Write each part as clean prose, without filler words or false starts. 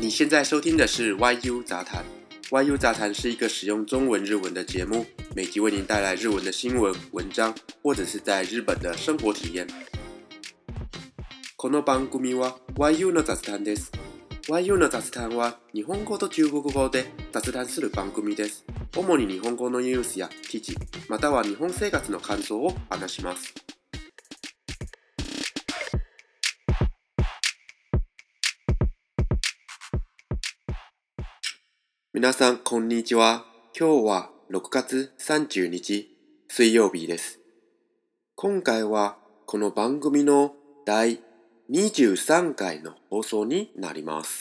你现在收听的是 YU 杂谈。YU 杂談是一個使用中文日文的節目，每集為您帶來日文的新聞、文章，或者是在日本的生活體驗。この番組は YU の雑談です。YU の雑談は日本語と中国語で雑談する番組です。主に日本語のニュースや記事、または日本生活の感想を話します。皆さんこんにちは。今日は6月30日水曜日です。今回はこの番組の第23回の放送になります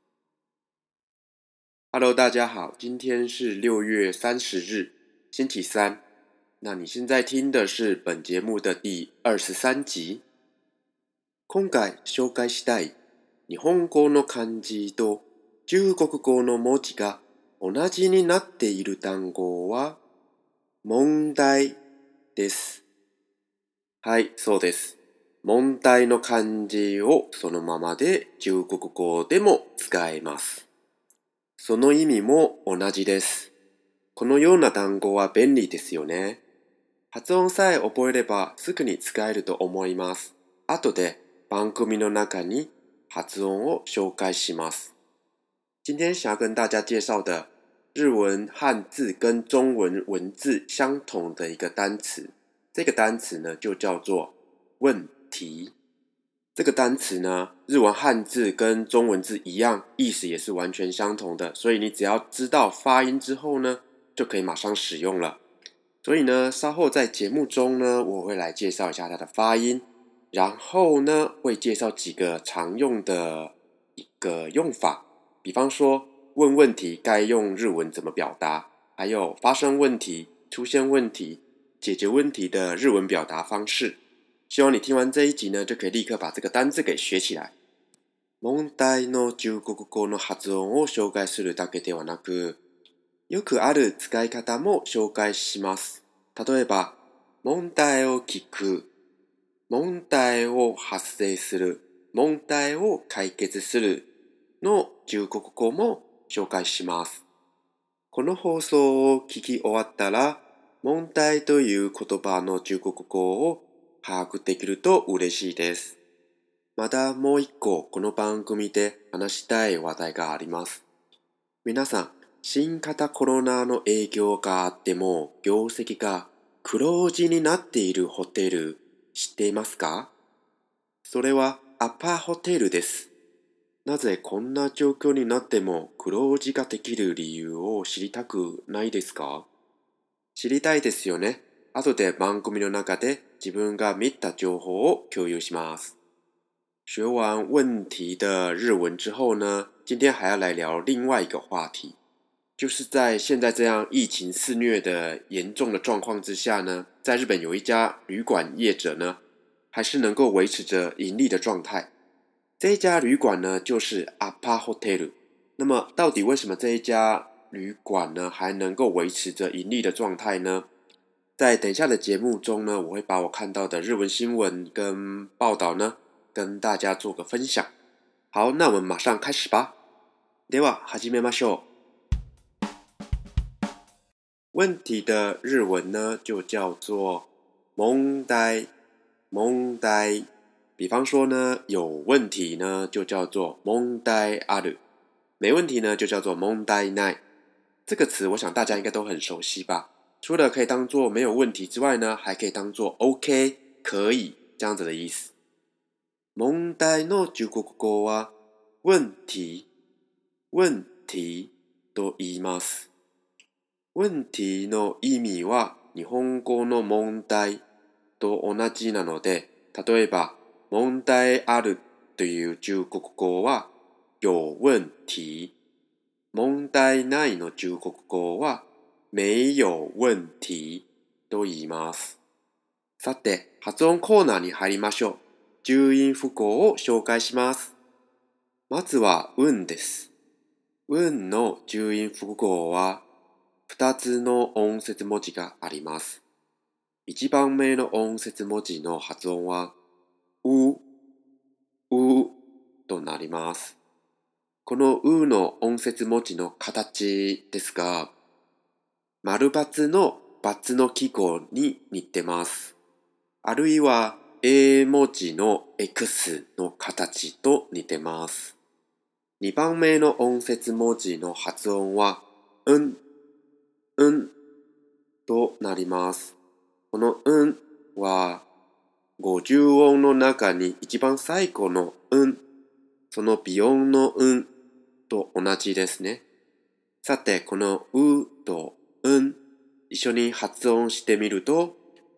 。Hello， 大家好，今天是6月30日，星期三。那你现在听的是本节目的第23集。今回紹介したい日本語の漢字と中国語の文字が同じになっている単語は問題です。はい、そうです。問題の漢字をそのままで中国語でも使えます。その意味も同じです。このような単語は便利ですよね。発音さえ覚えればすぐに使えると思います。後で番組の中に発音を紹介します。今天想要跟大家介绍的日文汉字跟中文文字相同的一个单词，这个单词呢就叫做问题。这个单词呢，日文汉字跟中文字一样，意思也是完全相同的，所以你只要知道发音之后呢，就可以马上使用了。所以呢，稍后在节目中呢，我会来介绍一下它的发音，然后呢，会介绍几个常用的一个用法，比方说问问题该用日文怎么表达，还有发生问题、出现问题、解决问题的日文表达方式。希望你听完这一集呢，就可以立刻把这个单字给学起来。問題の中国語の発音を紹介するだけではなく、よくある使い方も紹介します。例えば、問題を聞く、問題を発生する、問題を解決するの中国語も紹介します。この放送を聞き終わったら、問題という言葉の中国語を把握できると嬉しいです。まだもう一個この番組で話したい話題があります。皆さん、新型コロナの影響があっても業績が黒字になっているホテル知っていますか？それはアパホテルです。なぜこんな状況になっても黒字ができる理由を知りたくないですか？知りたいですよね。後で番組の中で自分が見た情報を共有します。学完问题的日文之后呢，今天还要来聊另外一个话题，就是在现在这样疫情肆虐的严重的状况之下呢，在日本有一家旅馆业者呢，还是能够维持着盈利的状态。这一家旅馆呢，就是アパホテル。那么到底为什么这一家旅馆呢还能够维持着盈利的状态呢？在等一下的节目中呢，我会把我看到的日文新闻跟报道呢，跟大家做个分享。好，那我们马上开始吧。では始めましょう。问题的日文呢，就叫做問題。問題。比方说呢，有问题呢，就叫做問題ある。没问题呢，就叫做問題ない。这个词我想大家应该都很熟悉吧。除了可以当作没有问题之外呢，还可以当作 OK 可以这样子的意思。問題の中国語は問題、問題と言います。問題の意味は日本語の問題と同じなので、例えば問題あるという中国語は有問題、問題ないの中国語は没有問題と言います。さて、発音コーナーに入りましょう。重音符号を紹介します。まずは運です。運の重音符号は2つの音節文字があります。1番目の音節文字の発音はうとなります。 このうの音節文字の形ですが、丸×の×の記号に似てます。あるいは A 文字の X の形と似てます。2番目の音節文字の発音は、うんとなります。このうんは、50音の中に一番最後のその微音のと同じですね。さて、このうと一緒に発音してみると、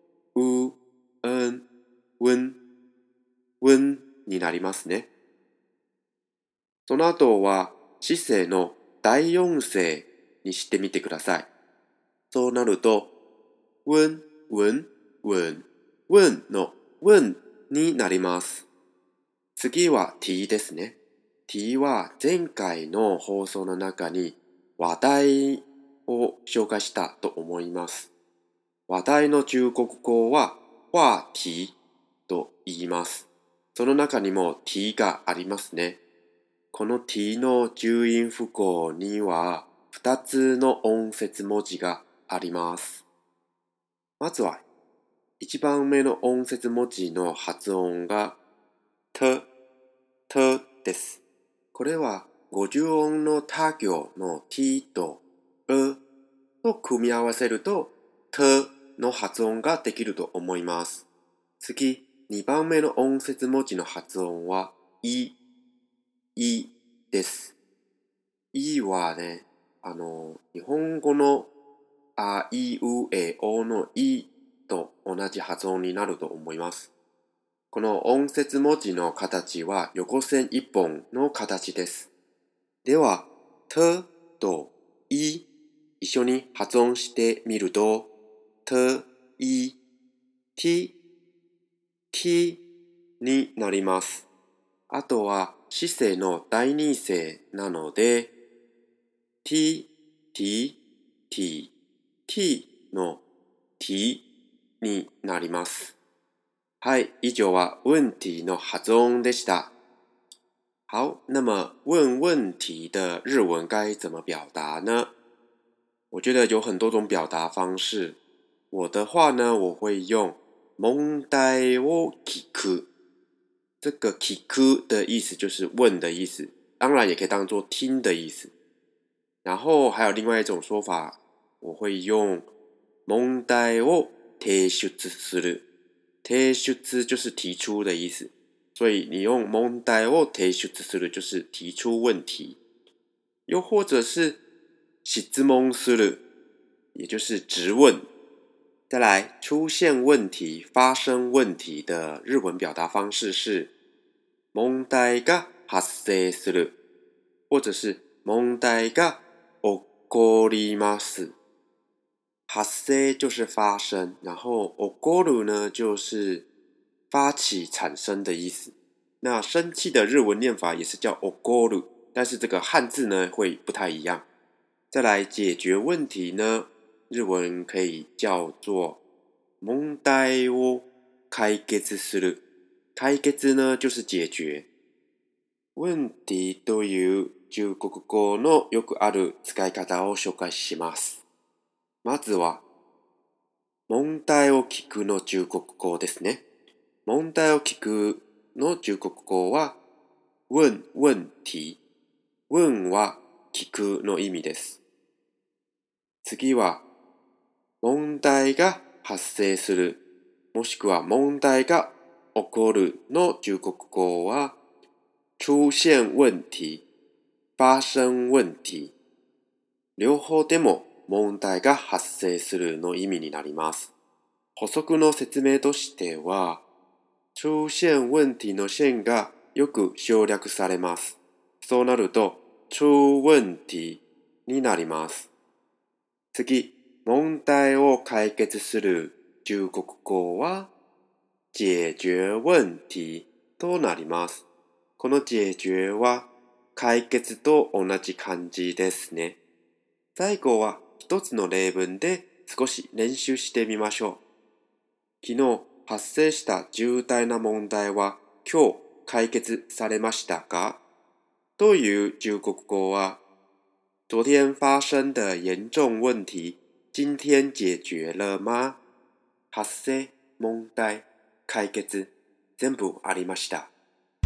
ウンになりますね。その後は、姿勢の第四声にしてみてください。そうなると、ウンのウンになります。次は t ですね。t は前回の放送の中に話題を紹介したと思います。話題の中国語は話題と言います。その中にも t がありますね。この t の重音符号には2つの音節文字があります。まずは1番目の音節文字の発音がとです。これは50音の他行の t とと組み合わせるとの発音ができると思います。次、2番目の音節文字の発音は、いです。いはね、日本語のあいうえおのいと同じ発音になると思います。この音節文字の形は横線一本の形です。では、とい一緒に発音してみると、テになります。あとは姿勢の第二声なので、t の t になります。はい，以上は问题の発音でした。好，那么问问题的日文该怎么表达呢？我觉得有很多种表达方式。我的话呢，我会用問題を聞く。这个聞く的意思就是问的意思，当然也可以当做听的意思。然后还有另外一种说法，我会用問題を提出する。提出就是提出的意思，所以你用問題を提出する就是提出问题。又或者是質問する，也就是质问。再来，出现问题、发生问题的日文表达方式是問題が発生する，或者是問題が起こります。発生就是发生，然后起こる呢就是发起、产生的意思。那生气的日文念法也是叫起こる，但是这个汉字呢会不太一样。再来解决问题呢，日文可以叫做問題を解決する。解決呢就是解決。問題という中国語のよくある使い方を紹介します。まずは、問題を聞くの中国語ですね。問題を聞くの中国語は、問題。問は聞くの意味です。次は、問題が発生する、もしくは問題が起こるの中国語は、出現問題、發生問題。両方でも問題が発生するの意味になります。補足の説明としては、出現問題の線がよく省略されます。そうなると、出問題になります。次、問題を解決する中国語は、解決問題となります。この解決は解決と同じ漢字ですね。最後は一つの例文で少し練習してみましょう。昨日発生した重大な問題は今日解決されましたか？ という中国語は昨天发生的严重问题今天解决了吗？発生、問題、解決、全部ありました。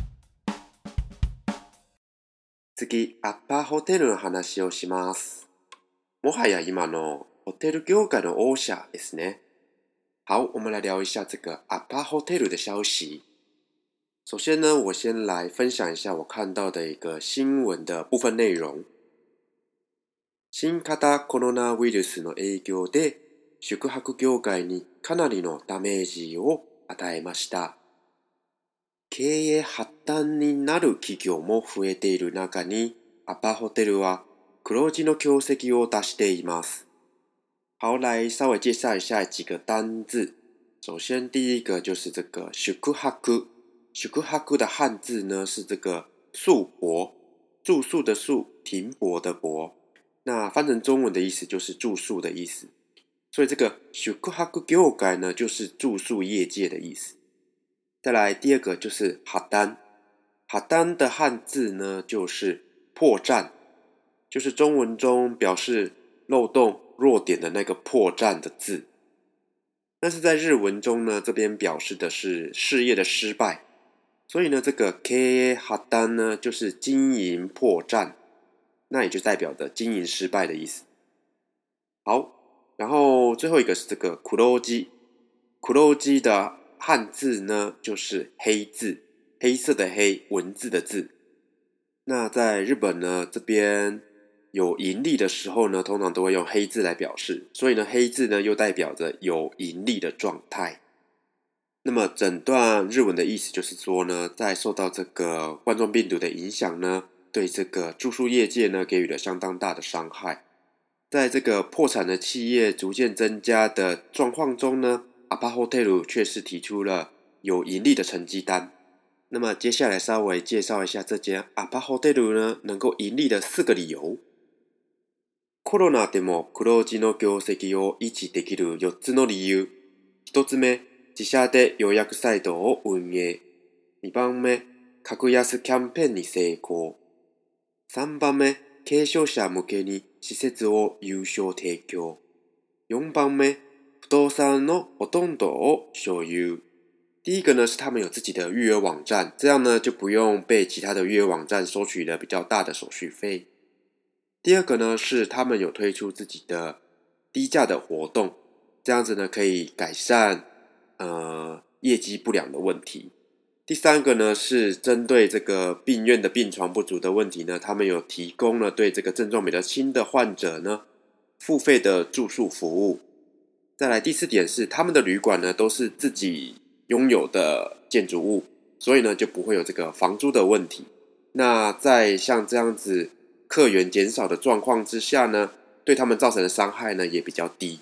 次、アパホテルの話をします。もはや今のホテル業界の王者ですね。好，我们来聊一下这个アパホテル的消息。首先呢，我先来分享一下我看到的一个新闻的部分内容。新型コロナウイルスの影響で宿泊業界にかなりのダメージを与えました。経営破綻になる企業も増えている中に、アパホテルは黒字の業績を出しています。好，来稍微介绍一下几个单字。首先第一个就是这个宿泊。宿泊的汉字呢是这个宿泊，住宿的宿，停泊的泊。那翻成中文的意思就是住宿的意思。所以这个宿泊業界呢就是住宿业界的意思。再来第二个就是破綻。破綻的汉字呢就是破绽，就是中文中表示漏洞弱点的那个破绽的字。但是在日文中呢，这边表示的是事业的失败。所以呢，这个経営破綻呢就是经营破绽，那也就代表着经营失败的意思。好，然后最后一个是这个黒字。黒字的汉字呢就是黑字，黑色的黑，文字的字。那在日本呢，这边有盈利的时候呢，通常都会用黑字来表示，所以呢，黑字呢又代表着有盈利的状态。那么整段日文的意思就是说呢，在受到这个冠状病毒的影响呢，对这个住宿业界呢给予了相当大的伤害。在这个破产的企业逐渐增加的状况中呢，アパホテル却是提出了有盈利的成绩单。那么接下来稍微介绍一下这间アパホテル呢能够盈利的4个理由。コロナでも黒字の業績を維持できる4つの理由。1つ目、自社で予約サイトを運営。2番目、格安キャンペーンに成功。3番目、軽症者向けに施設を有償提供。4番目、不動産のほとんどを所有。第一个呢是他们有自己的预约网站，这样呢就不用被其他的预约网站收取了比较大的手续费。第二个呢是他们有推出自己的低价的活动，这样子呢可以改善业绩不良的问题。第三个呢是针对这个病院的病床不足的问题呢，他们有提供了对这个症状比较轻的患者呢付费的住宿服务。再来第4点是他们的旅馆呢都是自己拥有的建筑物，所以呢就不会有这个房租的问题。那在像这样子客源减少的状况之下呢，对他们造成的伤害呢也比较低。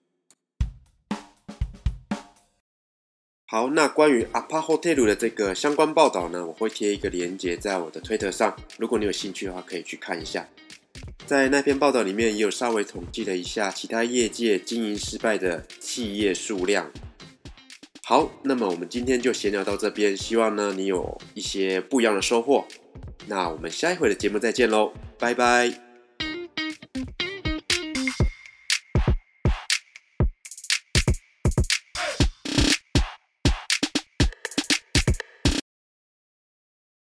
好，那关于アパホテル的这个相关报道呢，我会贴一个连结在我的推特上，如果你有兴趣的话可以去看一下。在那篇报道里面也有稍微统计了一下其他业界经营失败的企业数量。好，那么我们今天就闲聊到这边，希望呢你有一些不一样的收获。那我们下一回的节目再见咯，拜拜。